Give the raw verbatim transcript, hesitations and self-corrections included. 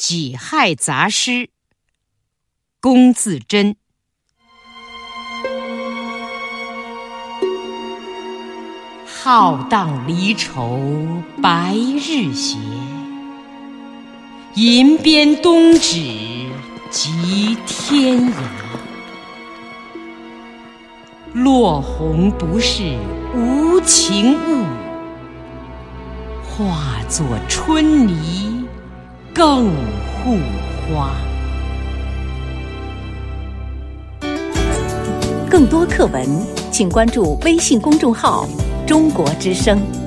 己亥杂诗，龚自珍。浩荡离愁白日斜，银鞭东指及天涯。落红不是无情物，化作春泥更护花。 更多课文，请关注微信公众号“中国之声”。